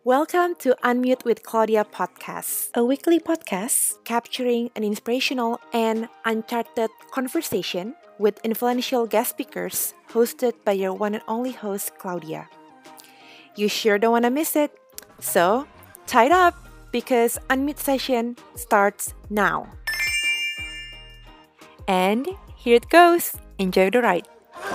Welcome to Unmute with Claudia podcast, a weekly podcast capturing an inspirational and uncharted conversation with influential guest speakers hosted by your one and only host, Claudia. You sure don't want to miss it. So, tie it up because Unmute session starts now. And here it goes. Enjoy the ride.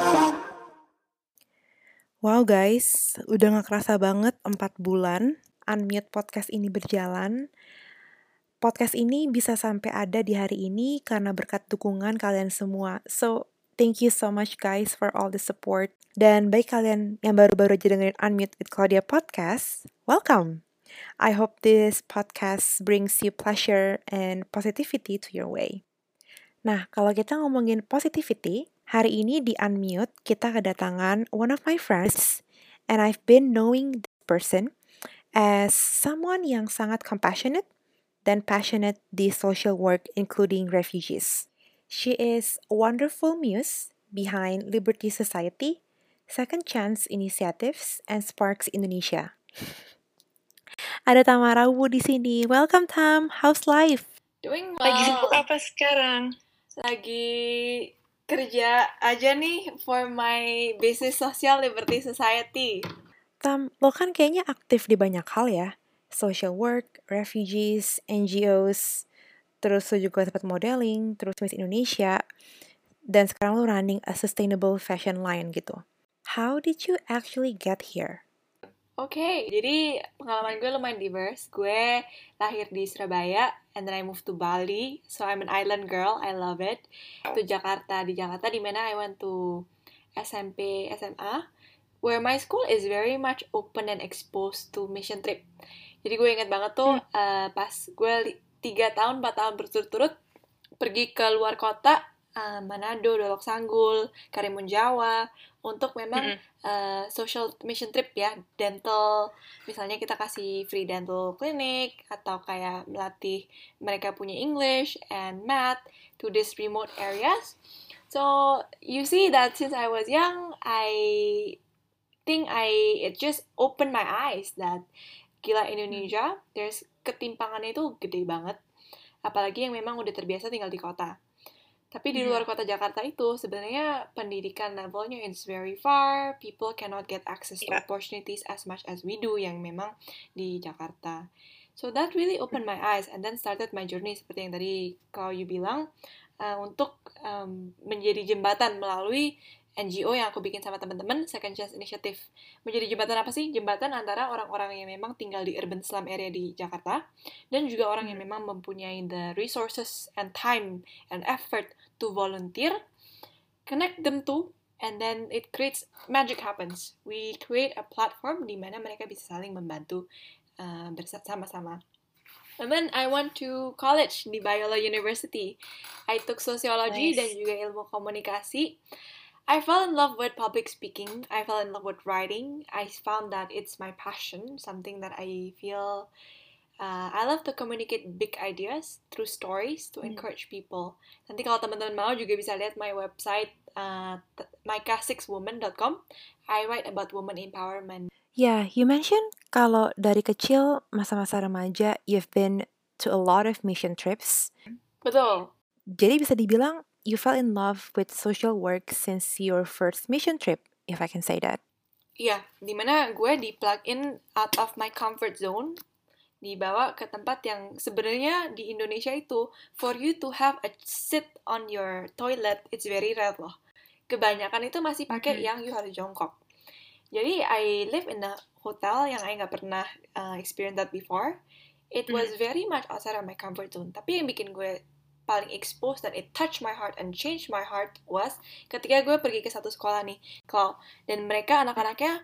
Wow guys, udah gak kerasa banget 4 bulan Unmute podcast ini berjalan. Podcast ini bisa sampai ada di hari ini karena berkat dukungan kalian semua. So, thank you so much guys for all the support. Dan bagi kalian yang baru-baru aja dengerin Unmute with Claudia podcast, welcome! I hope this podcast brings you pleasure and positivity to your way. Nah, kalau kita ngomongin positivity, hari ini di Unmute kita kedatangan one of my friends, and I've been knowing this person as someone yang sangat compassionate dan passionate di social work including refugees. She is a wonderful muse behind Liberty Society, Second Chance Initiatives, and Sparks Indonesia. Ada Tamara Wu di sini. Welcome Tam, how's life? Doing well. Lagi sibuk apa sekarang? Lagi kerja aja nih for my business social Liberty Society. Tam, lo kan kayaknya aktif di banyak hal ya. Social work, refugees, NGOs, terus lo juga sempat modeling, terus Miss Indonesia, dan sekarang lo running a sustainable fashion line gitu. How did you actually get here? Oke, jadi pengalaman gue lumayan diverse. Gue lahir di Surabaya, and then I moved to Bali, so I'm an island girl, I love it. To Jakarta, di Jakarta di mana I went to SMP, SMA, where my school is very much open and exposed to mission trip. Jadi gue inget banget tuh pas gue 3 tahun, 4 tahun berturut-turut pergi ke luar kota, Manado, Dolok Sanggul, Karimun Jawa, untuk memang social mission trip ya, dental, misalnya kita kasih free dental clinic, atau kayak melatih mereka punya English and math to these remote areas. So, you see that since I was young, I think it just opened my eyes that gila Indonesia, there's ketimpangannya itu gede banget. Apalagi yang memang udah terbiasa tinggal di kota. Tapi di luar kota Jakarta itu sebenarnya pendidikan levelnya is very far. People cannot get access to opportunities as much as we do yang memang di Jakarta. So that really opened my eyes and then started my journey seperti yang tadi kalau you bilang untuk menjadi jembatan melalui NGO yang aku bikin sama teman-teman, Second Chance Initiative. Menjadi jembatan apa sih? Jembatan antara orang-orang yang memang tinggal di urban slum area di Jakarta dan juga orang yang memang mempunyai the resources and time and effort to volunteer, connect them to, and then it creates, magic happens. We create a platform di mana mereka bisa saling membantu bersama-sama. And then I went to college di Biola University. I took sociology dan juga ilmu komunikasi. I fell in love with public speaking. I fell in love with writing. I found that it's my passion, something that I feel I love to communicate big ideas through stories to encourage people. Nanti kalau teman-teman mau juga bisa lihat my website myka6woman.com. I write about women empowerment. Yeah, you mentioned kalau dari kecil masa-masa remaja you've been to a lot of mission trips. Betul. Jadi bisa dibilang you fell in love with social work since your first mission trip, if I can say that. Iya, dimana gue di-plug in out of my comfort zone, dibawa ke tempat yang sebenarnya di Indonesia itu, for you to have a sit on your toilet, it's very rare loh. Kebanyakan itu masih pakai yang you harus jongkok. Jadi, I live in a hotel yang I nggak pernah experience that before. It was very much outside of my comfort zone. Tapi yang bikin gue paling exposed dan it touched my heart and changed my heart was ketika gue pergi ke satu sekolah nih, dan mereka anak-anaknya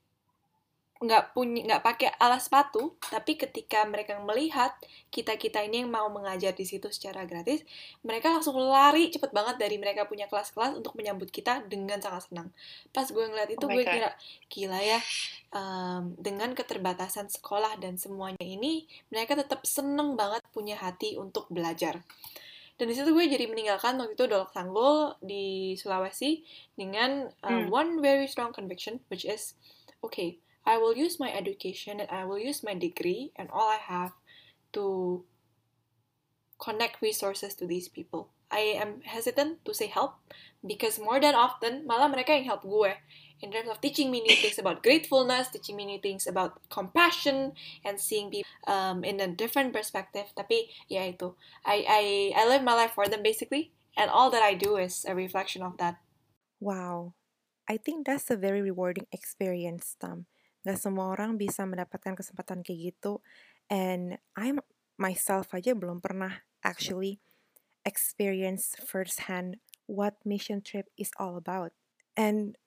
nggak pakai alas sepatu, tapi ketika mereka melihat kita ini yang mau mengajar di situ secara gratis, mereka langsung lari cepet banget dari mereka punya kelas-kelas untuk menyambut kita dengan sangat senang. Pas gue ngeliat itu gue kira gila ya, dengan keterbatasan sekolah dan semuanya ini mereka tetap seneng banget punya hati untuk belajar. Dan di situ gue jadi meninggalkan waktu itu Dolok Sanggul di Sulawesi dengan one very strong conviction, which is okay, I will use my education and I will use my degree and all I have to connect resources to these people. I am hesitant to say help because more than often malah mereka yang help gue in terms of teaching me new things about gratefulness, teaching me new things about compassion and seeing people in a different perspective. Tapi ya itu, I live my life for them basically, and all that I do is a reflection of that. Wow, I think that's a very rewarding experience, Tam. Gak semua orang bisa mendapatkan kesempatan kayak gitu, and I'm myself aja belum pernah actually experience firsthand what mission trip is all about. And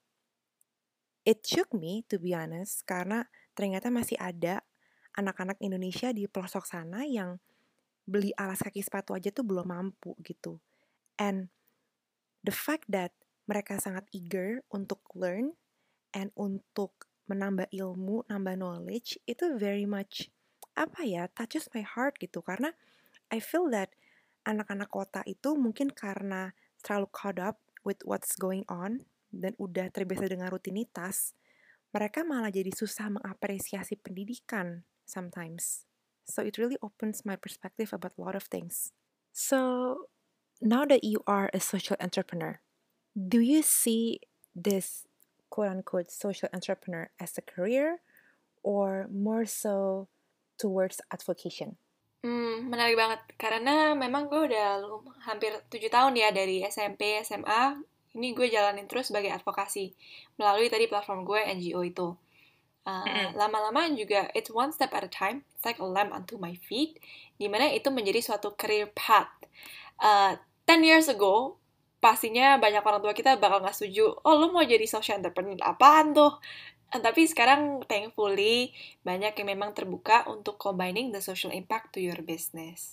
it shook me, to be honest, karena ternyata masih ada anak-anak Indonesia di pelosok sana yang beli alas kaki sepatu aja tuh belum mampu gitu. And the fact that mereka sangat eager untuk learn and untuk menambah ilmu, nambah knowledge, itu very much, touches my heart gitu. Karena I feel that anak-anak kota itu mungkin karena terlalu caught up with what's going on dan udah terbiasa dengan rutinitas, mereka malah jadi susah mengapresiasi pendidikan sometimes. So it really opens my perspective about a lot of things. So now that you are a social entrepreneur, do you see this quote-unquote social entrepreneur as a career or more so towards advocation? Menarik banget karena memang gue udah hampir 7 tahun ya dari SMP, SMA. Ini gue jalanin terus sebagai advokasi melalui tadi platform gue NGO itu. Lama-lama juga it's one step at a time. It's like a lamp unto my feet. Dimana itu menjadi suatu career path. 10 years ago, pastinya banyak orang tua kita bakal gak setuju. Oh, lu mau jadi social entrepreneur? Apaan tuh? Tapi sekarang thankfully banyak yang memang terbuka untuk combining the social impact to your business.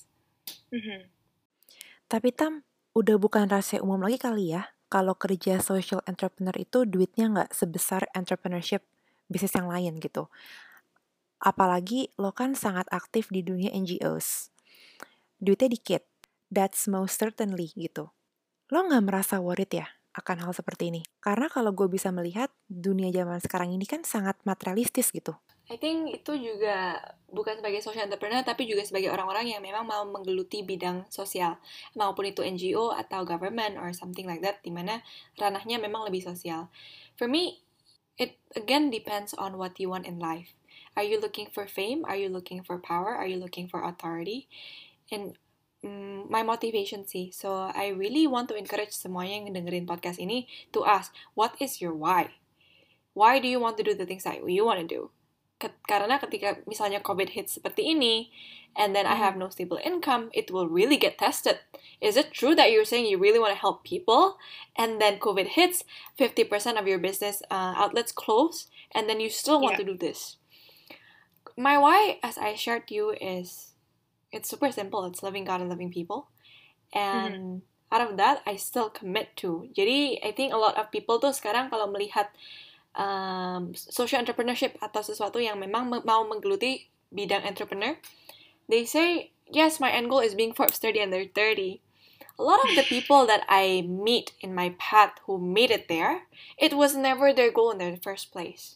Tapi Tam, udah bukan rahasia umum lagi kali ya, kalau kerja social entrepreneur itu duitnya nggak sebesar entrepreneurship bisnis yang lain gitu. Apalagi lo kan sangat aktif di dunia NGOs. Duitnya dikit, that's most certainly gitu. Lo nggak merasa worried ya akan hal seperti ini? Karena kalau gue bisa melihat, dunia zaman sekarang ini kan sangat materialistis gitu. I think itu juga bukan sebagai social entrepreneur, tapi juga sebagai orang-orang yang memang mau menggeluti bidang sosial. Maupun itu NGO atau government or something like that, dimana ranahnya memang lebih sosial. For me, it again depends on what you want in life. Are you looking for fame? Are you looking for power? Are you looking for authority? And my motivation sih. So I really want to encourage semuanya yang dengerin podcast ini to ask, what is your why? Why do you want to do the things that you want to do? Karena ketika misalnya COVID hits seperti ini, and then I have no stable income, it will really get tested. Is it true that you're saying you really want to help people, and then COVID hits, 50% of your business outlets close, and then you still want to do this? My why, as I shared to you, is it's super simple. It's loving God and loving people. And out of that, I still commit to. Jadi, I think a lot of people tuh sekarang kalau melihat social entrepreneurship atau sesuatu yang memang mau menggeluti bidang entrepreneur, they say, yes, my end goal is being Forbes 30 under 30. A lot of the people that I meet in my path who made it there, it was never their goal in the first place.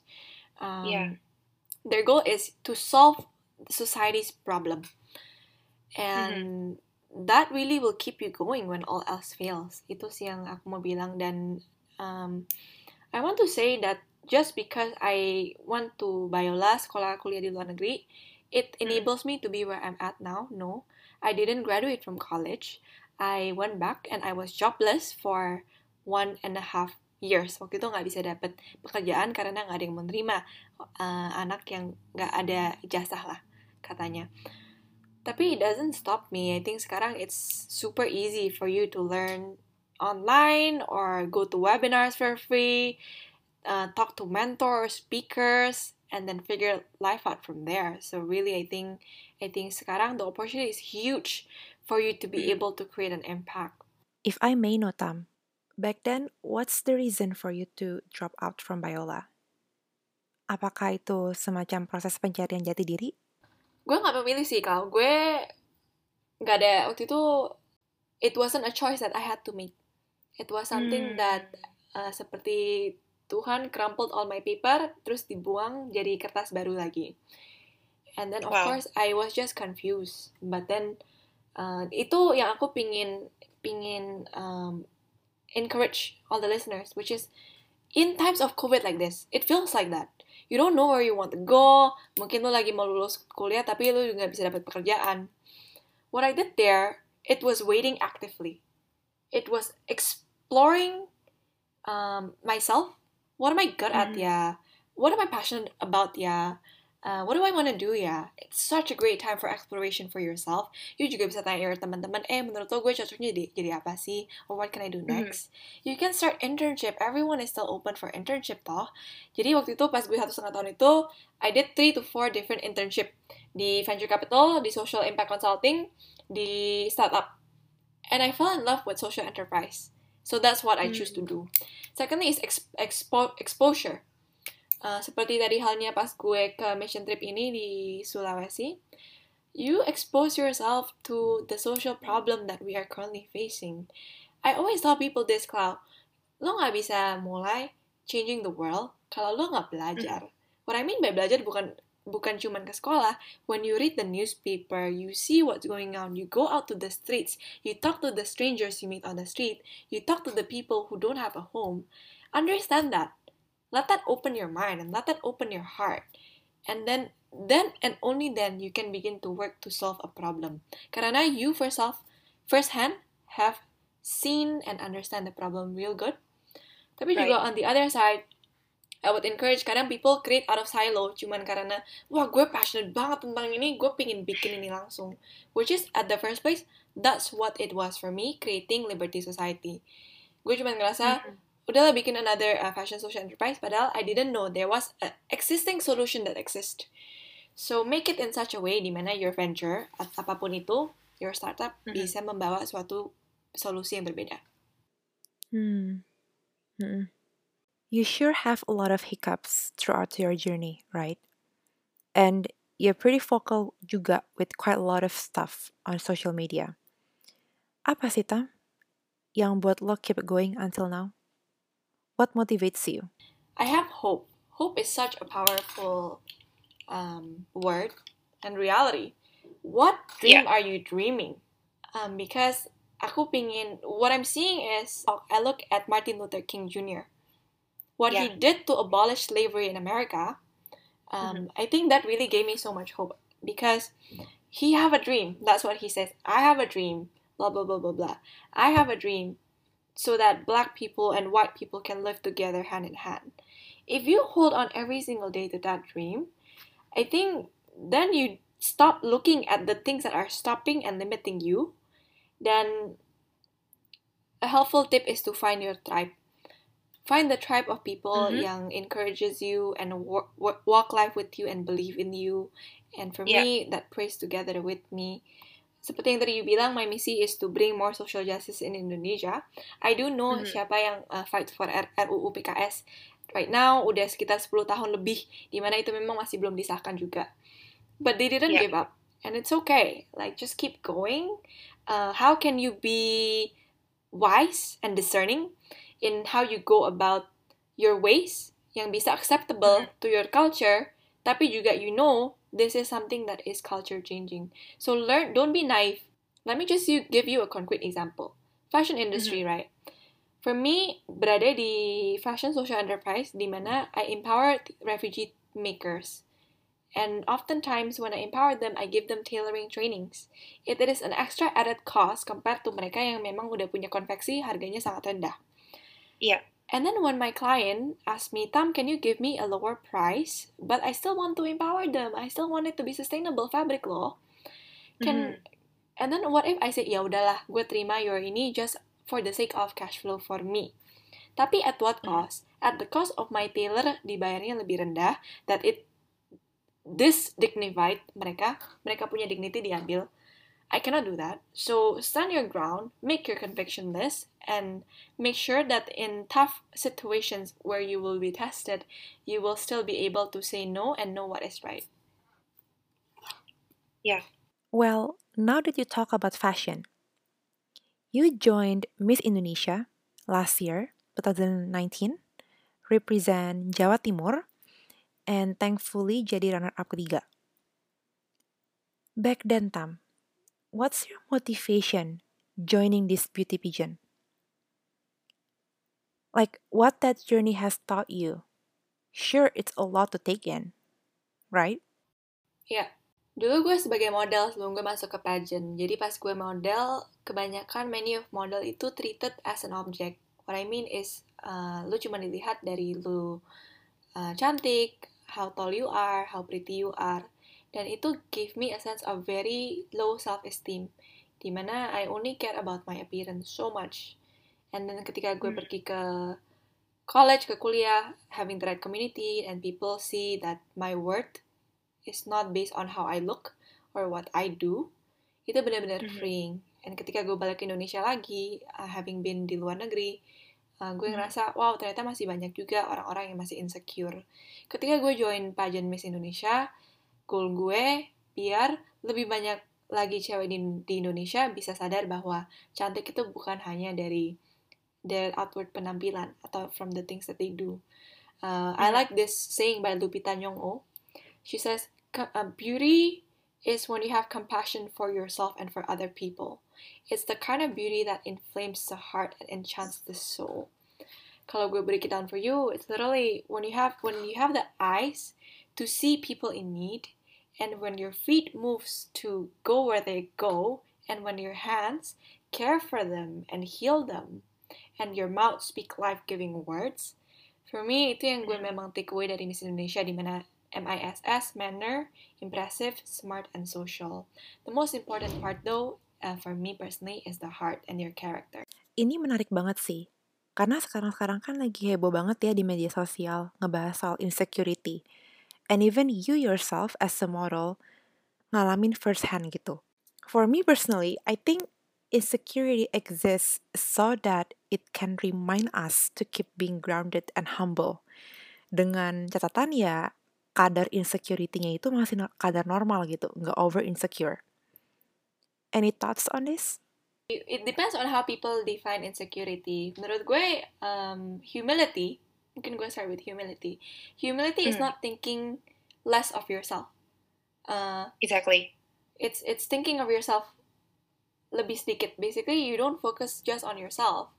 Their goal is to solve society's problem. And that really will keep you going when all else fails. Itu sih yang aku mau bilang. Dan I want to say that just because I went to Biola, sekolah kuliah di luar negeri, it enables me to be where I'm at now. No, I didn't graduate from college. I went back and I was jobless for 1.5 years. Waktu itu nggak bisa dapet pekerjaan karena nggak ada yang menerima anak yang nggak ada ijazah lah katanya. Tapi it doesn't stop me. I think sekarang it's super easy for you to learn online or go to webinars for free, talk to mentors, speakers, and then figure life out from there. So really, I think sekarang the opportunity is huge for you to be able to create an impact. If I may know, Tam, back then, what's the reason for you to drop out from Biola? Apakah itu semacam proses pencarian jati diri? Gue gak memilih sih, Kal. Gue gak ada, waktu itu, it wasn't a choice that I had to make. It was something that, seperti Tuhan crumpled all my paper, terus dibuang jadi kertas baru lagi. And then of Wow. course I was just confused. But then itu yang aku pingin encourage all the listeners, which is in times of COVID like this, it feels like that. You don't know where you want to go. Mungkin lo lagi mau lulus kuliah tapi lo juga nggak bisa dapat pekerjaan. What I did there, it was waiting actively. It was exploring myself. What am I good at, ya? What am I passionate about, ya? What do I want to do, ya? It's such a great time for exploration for yourself. You juga bisa tanya your teman-teman, menurut lo gue cocoknya jadi apa sih? Or what can I do next? You can start internship. Everyone is still open for internship, toh. Jadi waktu itu pas gue 1,5 tahun itu, I did 3 to 4 different internship. Di venture capital, di social impact consulting, di startup. And I fell in love with social enterprise. So that's what I choose to do. Secondly is exposure. Seperti tadi halnya pas gue ke mission trip ini di Sulawesi, you expose yourself to the social problem that we are currently facing. I always tell people this, Clau, lo gak bisa mulai changing the world kalau lo gak belajar. What I mean by belajar bukan cuman ke sekolah. When you read the newspaper, you see what's going on, you go out to the streets, you talk to the strangers you meet on the street, you talk to the people who don't have a home. Understand that. Let that open your mind and let that open your heart. And then and only then you can begin to work to solve a problem. Karena you firsthand have seen and understand the problem real good. Tapi juga on the other side, I would encourage kadang people create out of silo cuman karena wah gue passionate banget tentang ini, gue pingin bikin ini langsung. Which is at the first place, that's what it was for me creating Liberty Society. Gue cuman ngerasa udahlah bikin another fashion social enterprise, padahal I didn't know there was an existing solution that exists. So make it in such a way dimana your venture, apapun itu, your startup bisa membawa suatu solusi yang berbeda. You sure have a lot of hiccups throughout your journey, right? And you're pretty vocal juga with quite a lot of stuff on social media. Apa sih, Tam, yang buat lo keep going until now? What motivates you? I have hope. Hope is such a powerful word and reality. What dream are you dreaming? Because what I'm seeing is, I look at Martin Luther King Jr. What he did to abolish slavery in America, I think that really gave me so much hope. Because he have a dream. That's what he says. I have a dream. Blah, blah, blah, blah, blah. I have a dream so that black people and white people can live together hand in hand. If you hold on every single day to that dream, I think then you stop looking at the things that are stopping and limiting you. Then a helpful tip is to find your tribe. Find the tribe of people yang encourages you and walk life with you and believe in you. And for me, that prays together with me. Seperti yang tadi you bilang, my misi is to bring more social justice in Indonesia. I do know siapa yang fight for RUU PKS. Right now, udah sekitar 10 tahun lebih, dimana itu memang masih belum disahkan juga. But they didn't give up. And it's okay. Like, just keep going. How can you be wise and discerning in how you go about your ways yang bisa acceptable to your culture, tapi juga you know this is something that is culture changing. So learn, don't be naive. Let me just give you a concrete example. Fashion industry, right? For me, berada di fashion social enterprise, di mana I empower refugee makers. And oftentimes when I empower them, I give them tailoring trainings. It is an extra added cost compared to mereka yang memang udah punya konveksi, harganya sangat rendah. And then when my client asked me, Tam, can you give me a lower price? But I still want to empower them. I still want it to be sustainable fabric loh. And then what if I say, ya udahlah, gue terima your ini just for the sake of cash flow for me. Tapi at what cost? At the cost of my tailor dibayarnya lebih rendah, that it dignified mereka punya dignity diambil. I cannot do that. So stand your ground, make your conviction list, and make sure that in tough situations where you will be tested, you will still be able to say no and know what is right. Well, now that you talk about fashion, you joined Miss Indonesia last year, 2019, represent Jawa Timur, and thankfully jadi runner-up ketiga. Back then, Tam, what's your motivation joining this beauty pageant? Like, what that journey has taught you? Sure, it's a lot to take in, right? Ya, dulu gue sebagai model sebelum gue masuk ke pageant. Jadi pas gue model, kebanyakan many of model itu treated as an object. What I mean is, lu cuma dilihat dari lu cantik, how tall you are, how pretty you are. Dan itu gave me a sense of very low self-esteem. Dimana I only care about my appearance so much. And then ketika gue pergi ke college, ke kuliah, having the right community, and people see that my worth is not based on how I look or what I do, itu benar-benar freeing. And ketika gue balik ke Indonesia lagi, having been di luar negeri, gue ngerasa, wow, ternyata masih banyak juga orang-orang yang masih insecure. Ketika gue join pageant Miss Indonesia, goal gue biar lebih banyak lagi cewek di Indonesia bisa sadar bahwa cantik itu bukan hanya dari their outward penampilan atau from the things that they do. I like this saying by Lupita Nyong'o. She says, beauty is when you have compassion for yourself and for other people. It's the kind of beauty that inflames the heart and enchants the soul. Kalau gue break it down for you, it's literally when you have the eyes to see people in need, and when your feet moves to go where they go, and when your hands care for them and heal them, and your mouth speak life-giving words. For me, itu yang gue memang take away dari Miss Indonesia, di mana MISS, manner, impressive, smart, and social. The most important part though, for me personally, is the heart and your character. Ini menarik banget sih, karena sekarang-sekarang kan lagi heboh banget ya di media sosial ngebahas soal insecurity. And even you yourself as a model ngalamin first hand gitu. For me personally, I think insecurity exists so that it can remind us to keep being grounded and humble. Dengan catatan ya, kadar insecurity-nya itu masih kadar normal gitu, nggak over insecure. Any thoughts on this? It depends on how people define insecurity. Menurut gue, humility, mungkin gue start with humility. Humility is not thinking less of yourself. Exactly. It's thinking of yourself lebih sedikit. Basically, you don't focus just on yourself.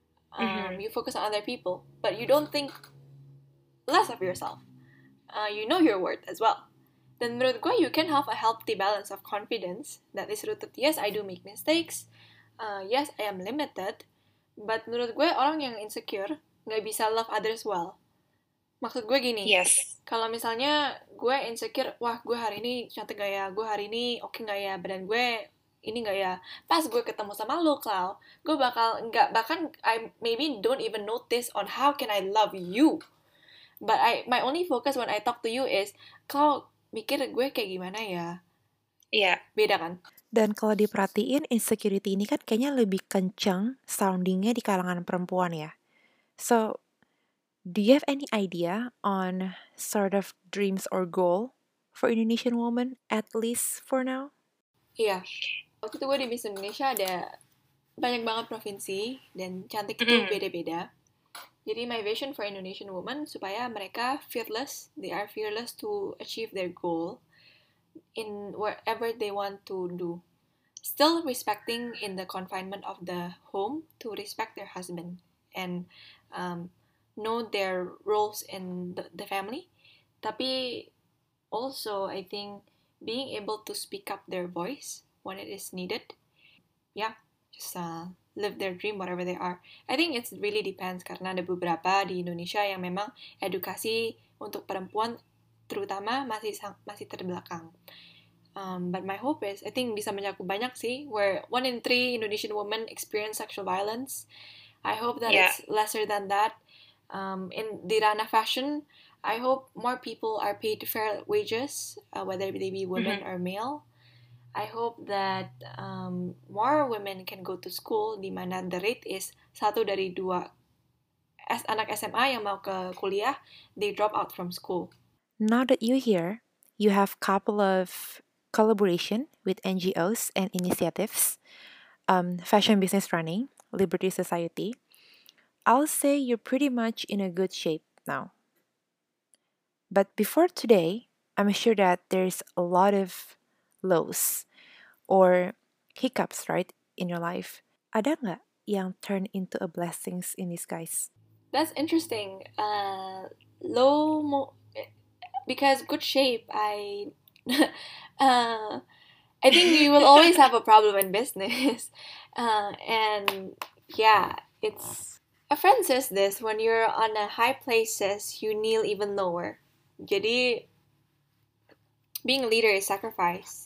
You focus on other people, but you don't think less of yourself. You know your worth as well. Dan menurut gue, you can have a healthy balance of confidence that is rooted, yes, I do make mistakes, yes, I am limited, but menurut gue, orang yang insecure nggak bisa love others well. Maksud gue gini, kalau misalnya gue insecure, wah gue hari ini cantik gak ya, gue hari ini oke gak ya, badan gue ini gak ya, pas gue ketemu sama lo, Clau, gue bakal nggak, bahkan I maybe don't even notice on how can I love you. But my only focus when I talk to you is, Clau, mikir gue kayak gimana ya? Iya. Beda kan? Dan kalau diperhatiin, insecurity ini kan kayaknya lebih kencang soundingnya di kalangan perempuan ya. So, do you have any idea on sort of dreams or goal for Indonesian women, at least for now? Iya. Waktu itu gue di Miss Indonesia ada banyak banget provinsi, dan cantik itu beda-beda. Jadi my vision for Indonesian women supaya mereka fearless, they are fearless to achieve their goal in wherever they want to do. Still respecting in the confinement of the home to respect their husband and know their roles in the family. Tapi also I think being able to speak up their voice when it is needed. Yeah, just live their dream whatever they are. I think it really depends karena ada beberapa di Indonesia yang memang edukasi untuk perempuan terutama masih terbelakang. But my hope is, I think bisa mencakup banyak sih, where 1 in 3 Indonesian women experience sexual violence. I hope that it's lesser than that. In the ranah fashion, I hope more people are paid fair wages, whether they be women or male. I hope that more women can go to school, di mana the rate is 1 dari 2 anak SMA yang mau ke kuliah, they drop out from school. Now that you're here, you have a couple of collaboration with NGOs and initiatives, Fashion Business Running, Liberty Society. I'll say you're pretty much in a good shape now. But before today, I'm sure that there's a lot of lows or hiccups, right, in your life. Ada nggak yang turn into a blessings in disguise? That's interesting. Because good shape, uh, I think you will always have a problem in business. And yeah, it's a friend says this, when you're on a high places, you kneel even lower. Jadi being a leader is sacrifice.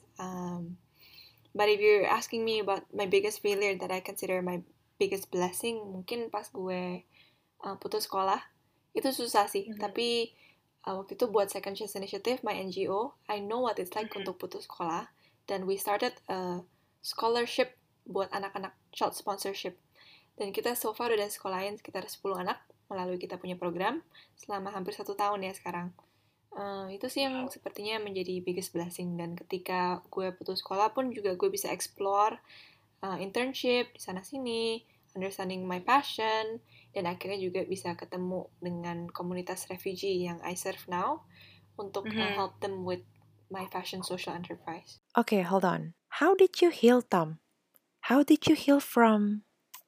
But if you're asking me about my biggest failure that I consider my biggest blessing, mungkin pas gue putus sekolah, itu susah sih. Tapi waktu itu buat Second Chance Initiative, my NGO, I know what it's like untuk putus sekolah. Dan we started a scholarship buat anak-anak, child sponsorship. Dan kita so far udah sekolahin sekitar 10 anak melalui kita punya program selama hampir 1 tahun ya sekarang. Itu sih yang sepertinya menjadi biggest blessing. Dan ketika gue putus sekolah pun juga gue bisa explore internship di sana-sini, understanding my passion, dan akhirnya juga bisa ketemu dengan komunitas refugee yang I serve now untuk help them with my fashion social enterprise. Okay, hold on. How did you heal, Tom? How did you heal from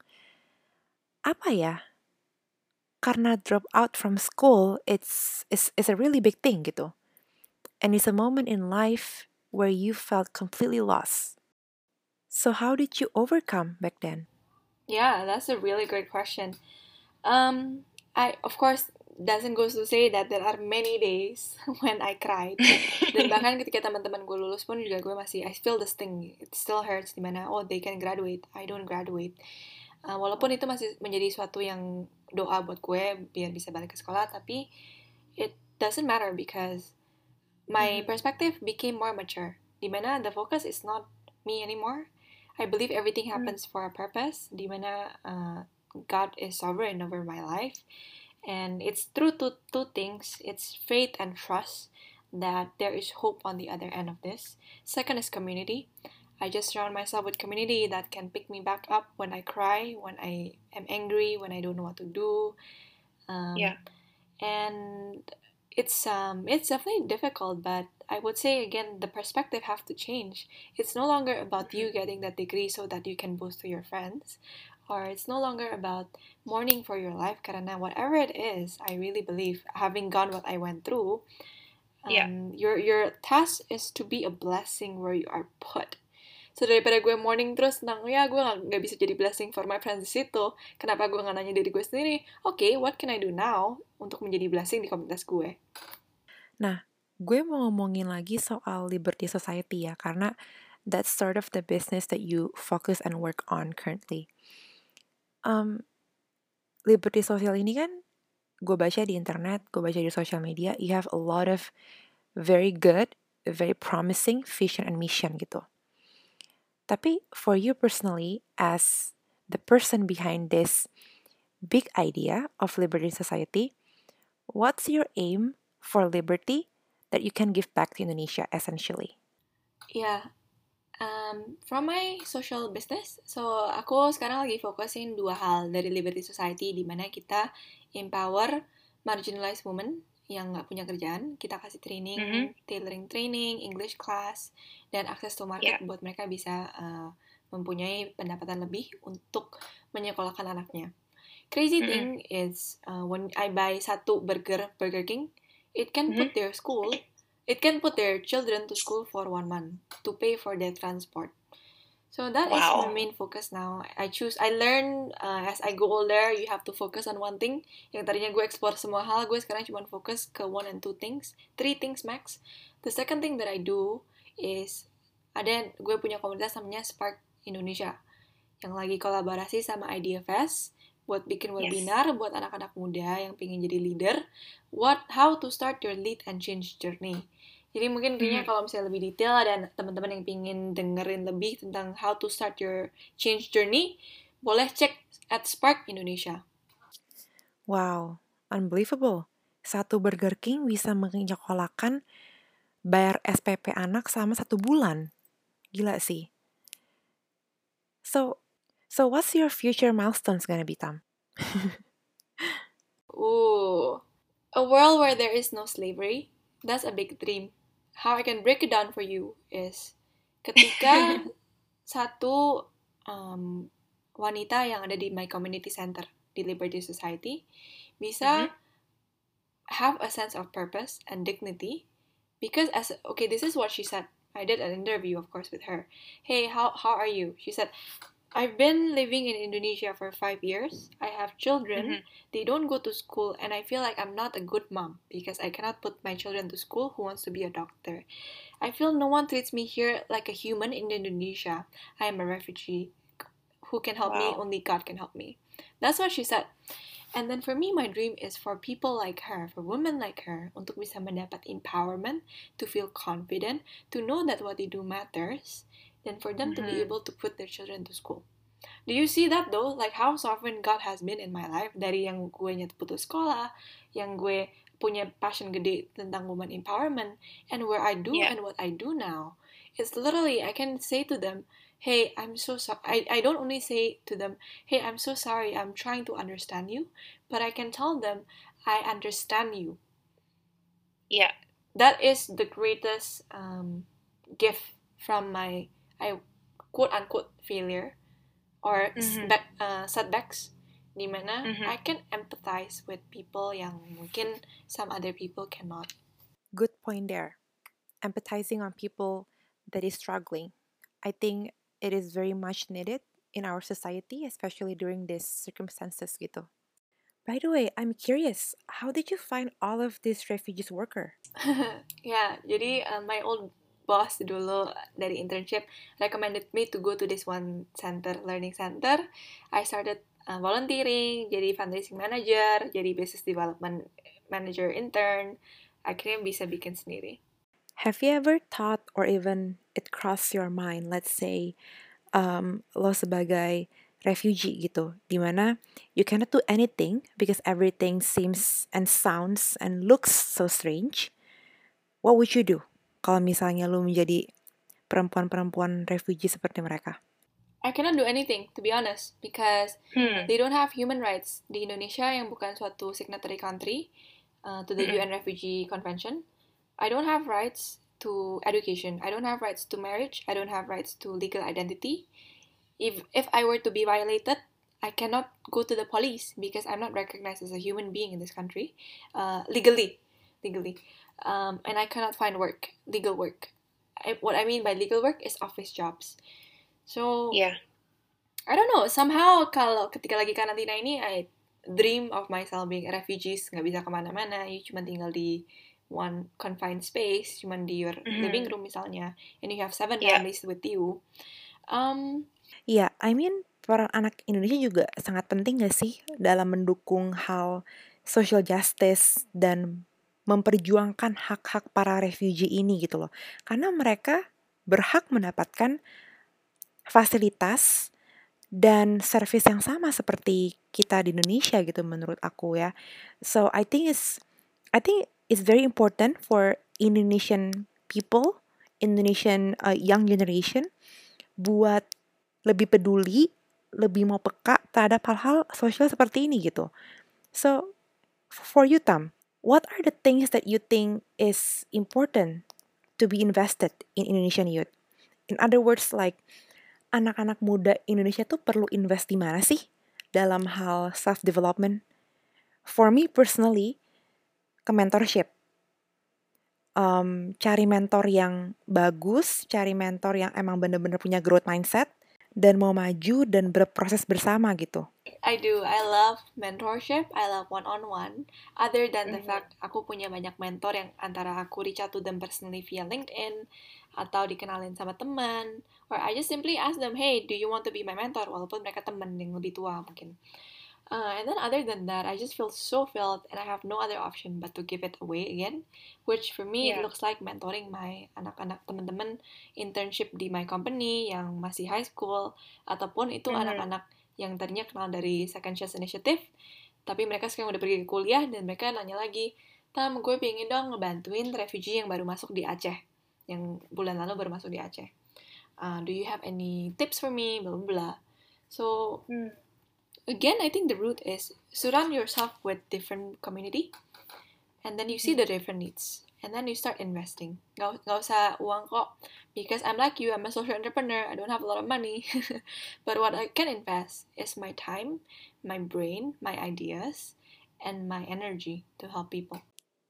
apa ya? Karena drop out from school, it's a really big thing gitu. And it's a moment in life where you felt completely lost. So how did you overcome back then? Yeah, that's a really great question. I of course doesn't go to say that there are many days when I cried. Dan bahkan ketika teman-teman gue lulus pun juga gue masih I feel this thing, it still hurts, dimana they can graduate, I don't graduate. Walaupun itu masih menjadi suatu yang doa buat gue biar bisa balik ke sekolah, tapi it doesn't matter because my perspective became more mature. Dimana the focus is not me anymore. I believe everything happens for a purpose. Dimana God is sovereign over my life, and it's through two things. It's faith and trust that there is hope on the other end of this. Second is community. I just surround myself with community that can pick me back up when I cry, when I am angry, when I don't know what to do. And it's definitely difficult, but I would say again the perspective have to change. It's no longer about you getting that degree so that you can boast to your friends, or it's no longer about mourning for your life. Karena whatever it is, I really believe having gone what I went through, your task is to be a blessing where you are put. So daripada gue mourning terus tentang ya gue nggak bisa jadi blessing for my friends di situ, kenapa gue nggak nanya diri gue sendiri, okay, what can I do now untuk menjadi blessing di komunitas gue? Nah, gue mau ngomongin lagi soal Liberty Society ya, karena that's sort of the business that you focus and work on currently. Liberty Social ini kan, gue baca di internet, gue baca di social media, you have a lot of very good, very promising vision and mission gitu. Tapi for you personally, as the person behind this big idea of Liberty Society, what's your aim for liberty that you can give back to Indonesia essentially? Yeah, from my social business, so aku sekarang lagi fokusin 2 hal dari Liberty Society, di mana kita empower marginalized women yang nggak punya kerjaan, kita kasih training, tailoring training, English class, dan akses to market buat mereka bisa mempunyai pendapatan lebih untuk menyekolahkan anaknya. Crazy thing is when I buy satu Burger King, it can put their children to school for 1 month to pay for their transport. So that is my main focus now. I learn as I go older, you have to focus on one thing. Yang tadinya gue explore semua hal, gue sekarang cuma fokus ke 1 and 2 things, 3 things max. The second thing that I do is gue punya komunitas namanya Spark Indonesia yang lagi kolaborasi sama IDFS buat bikin webinar buat anak-anak muda yang pengen jadi leader, how to start your lead and change journey. Jadi mungkin kayaknya kalau misalnya lebih detail ada teman-teman yang pengen dengerin lebih tentang how to start your change journey, boleh cek at Spark Indonesia. Wow, unbelievable. Satu Burger King bisa menyekolahkan bayar SPP anak selama 1 bulan. Gila sih. So what's your future milestones gonna be, Tam? A world where there is no slavery, that's a big dream. How I can break it down for you is ketika satu wanita yang ada di my community center di Liberty Society bisa have a sense of purpose and dignity, because this is what she said. I did an interview, of course, with her. Hey, how are you? She said, I've been living in Indonesia for 5 years. I have children. They don't go to school, and I feel like I'm not a good mom because I cannot put my children to school who wants to be a doctor. I feel no one treats me here like a human in Indonesia. I am a refugee. Who can help me? Only God can help me. That's what she said. And then for me, my dream is for people like her, for women like her, untuk bisa mendapat empowerment, to feel confident, to know that what they do matters, and for them to be able to put their children to school. Do you see that though? Like how sovereign God has been in my life. Dari yang gue putus sekolah, yang gue punya passion gede tentang woman empowerment, and where I do and what I do now. It's literally, I can say to them, hey, I'm so sorry. I don't only say to them, hey, I'm so sorry, I'm trying to understand you, but I can tell them, I understand you. Yeah. That is the greatest gift from my, quote-unquote, failure or setbacks, dimana I can empathize with people yang mungkin some other people cannot. Good point there. Empathizing on people that is struggling. I think it is very much needed in our society, especially during these circumstances gitu. By the way, I'm curious, how did you find all of these refugees worker? Ya, jadi my old boss dulu dari internship recommended me to go to this one center, learning center. I started volunteering, jadi fundraising manager, jadi business development manager intern. Akhirnya bisa bikin sendiri. Have you ever thought or even it crossed your mind, let's say, lo sebagai refugee gitu, dimana you cannot do anything because everything seems and sounds and looks so strange. What would you do kalau misalnya lo menjadi perempuan-perempuan refugee seperti mereka? I cannot do anything, to be honest, because they don't have human rights. Di Indonesia yang bukan suatu signatory country to the UN Refugee Convention, I don't have rights to education. I don't have rights to marriage. I don't have rights to legal identity. If I were to be violated, I cannot go to the police because I'm not recognized as a human being in this country, legally. And I cannot find work, legal work. What I mean by legal work is office jobs. So, I don't know, somehow kalau ketika lagi karantina ini, I dream of myself being a refugee, nggak bisa kemana-mana, you cuma tinggal di one confined space, cuma di your living room misalnya, and you have 7 families with you. Yeah, I mean, peran anak Indonesia juga sangat penting gak sih dalam mendukung hal social justice dan memperjuangkan hak-hak para refugee ini gitu loh. Karena mereka berhak mendapatkan fasilitas dan service yang sama seperti kita di Indonesia gitu menurut aku ya. So I think it's very important for Indonesian people, Indonesian young generation buat lebih peduli, lebih mau peka terhadap hal-hal sosial seperti ini gitu. So for you, Tam, what are the things that you think is important to be invested in Indonesian youth? In other words, like anak-anak muda Indonesia tuh perlu invest di mana sih dalam hal self-development? For me personally, ke mentorship. Cari mentor yang bagus, cari mentor yang emang bener-bener punya growth mindset, dan mau maju dan berproses bersama gitu. I do. I love mentorship. I love one-on-one. Other than the fact aku punya banyak mentor yang antara aku reach out to them personally via LinkedIn atau dikenalin sama teman, or I just simply ask them, hey, do you want to be my mentor? Walaupun mereka teman yang lebih tua mungkin. And then other than that, I just feel so filled and I have no other option but to give it away again, which for me it looks like mentoring my anak-anak teman-teman internship di my company yang masih high school, ataupun itu anak-anak yang tadinya kenal dari Second Chance Initiative, tapi mereka sekarang udah pergi ke kuliah dan mereka nanya lagi, Tam, gue pengen dong ngebantuin refugee yang baru masuk di Aceh, yang bulan lalu baru masuk di Aceh. Do you have any tips for me? Blah, blah, blah. So, again, I think the root is surround yourself with different community. and then you see the different needs, and then you start investing. Nggak usah uang kok, because I'm like you, I'm a social entrepreneur, I don't have a lot of money. But what I can invest is my time, my brain, my ideas, and my energy to help people.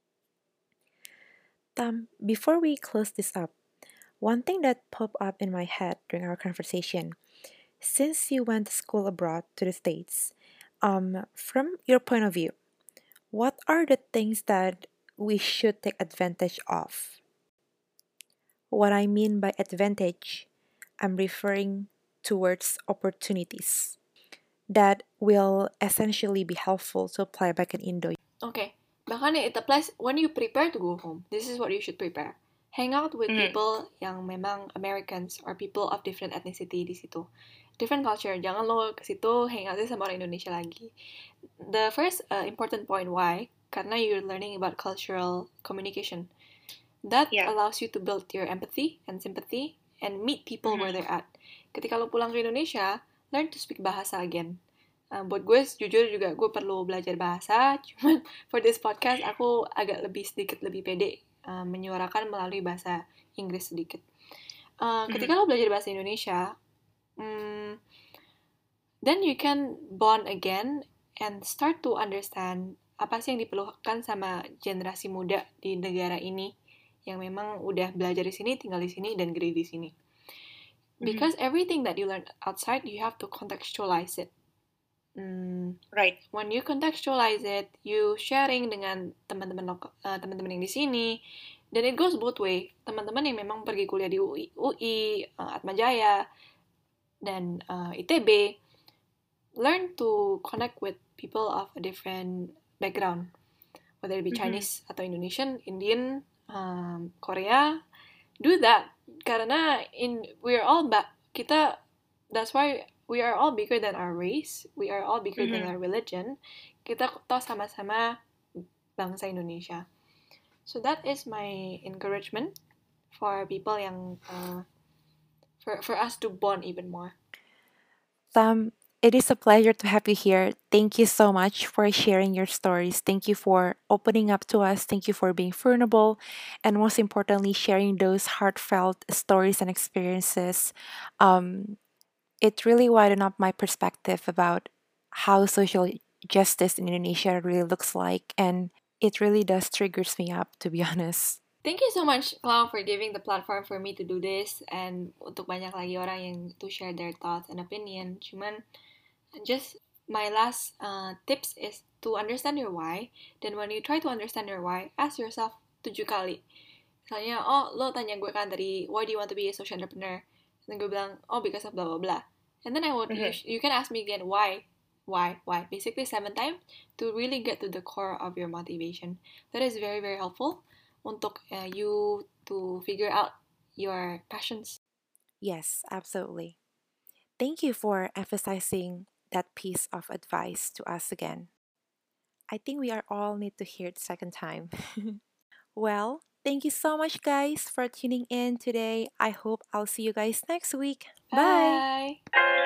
Before we close this up, one thing that popped up in my head during our conversation, since you went to school abroad to the States, from your point of view, what are the things that we should take advantage of? What I mean by advantage, I'm referring towards opportunities that will essentially be helpful to apply back in Indo. Okay, bahkan it applies when you prepare to go home. This is what you should prepare. Hang out with people yang memang Americans or people of different ethnicity di situ. Different culture. Jangan lo ke situ hang out sama orang Indonesia lagi. The first important point why, karena you're learning about cultural communication. That allows you to build your empathy and sympathy and meet people where they're at. Ketika lo pulang ke Indonesia, learn to speak bahasa again. Buat gue jujur juga gue perlu belajar bahasa, cuman for this podcast aku agak sedikit lebih pede menyuarakan melalui bahasa Inggris sedikit. Ketika lo belajar bahasa Indonesia, then you can bond again and start to understand apa sih yang diperlukan sama generasi muda di negara ini yang memang udah belajar di sini, tinggal di sini, dan gede di sini. Because everything that you learn outside, you have to contextualize it. Right. When you contextualize it, you sharing dengan teman-teman yang di sini, dan it goes both way. Teman-teman yang memang pergi kuliah di UI, Atmajaya, dan ITB, learn to connect with people of a different background, whether it be Chinese atau Indonesian, Indian, Korea. Do that karena that's why we are all bigger than our race, we are all bigger than our religion. Kita toh sama-sama bangsa Indonesia. So that is my encouragement for people yang for us to bond even more. It is a pleasure to have you here. Thank you so much for sharing your stories. Thank you for opening up to us. Thank you for being vulnerable. And most importantly, sharing those heartfelt stories and experiences. It really widened up my perspective about how social justice in Indonesia really looks like. And it really does triggers me up, to be honest. Thank you so much, Clau, for giving the platform for me to do this, and untuk banyak lagi orang yang to share their thoughts and opinion. Cuman, just my last tips is to understand your why. Then when you try to understand your why, ask yourself 7 kali. Misalnya, lo tanya gue kan tadi, why do you want to be a social entrepreneur? Dan gue bilang, because of blah blah blah. And then you can ask me again, why? Basically 7 times to really get to the core of your motivation. That is very, very helpful untuk you to figure out your passions. Yes, absolutely. Thank you for emphasizing that piece of advice to us again. I think we are all need to hear it second time. Well, thank you so much, guys, for tuning in today. I hope I'll see you guys next week. Bye. Bye.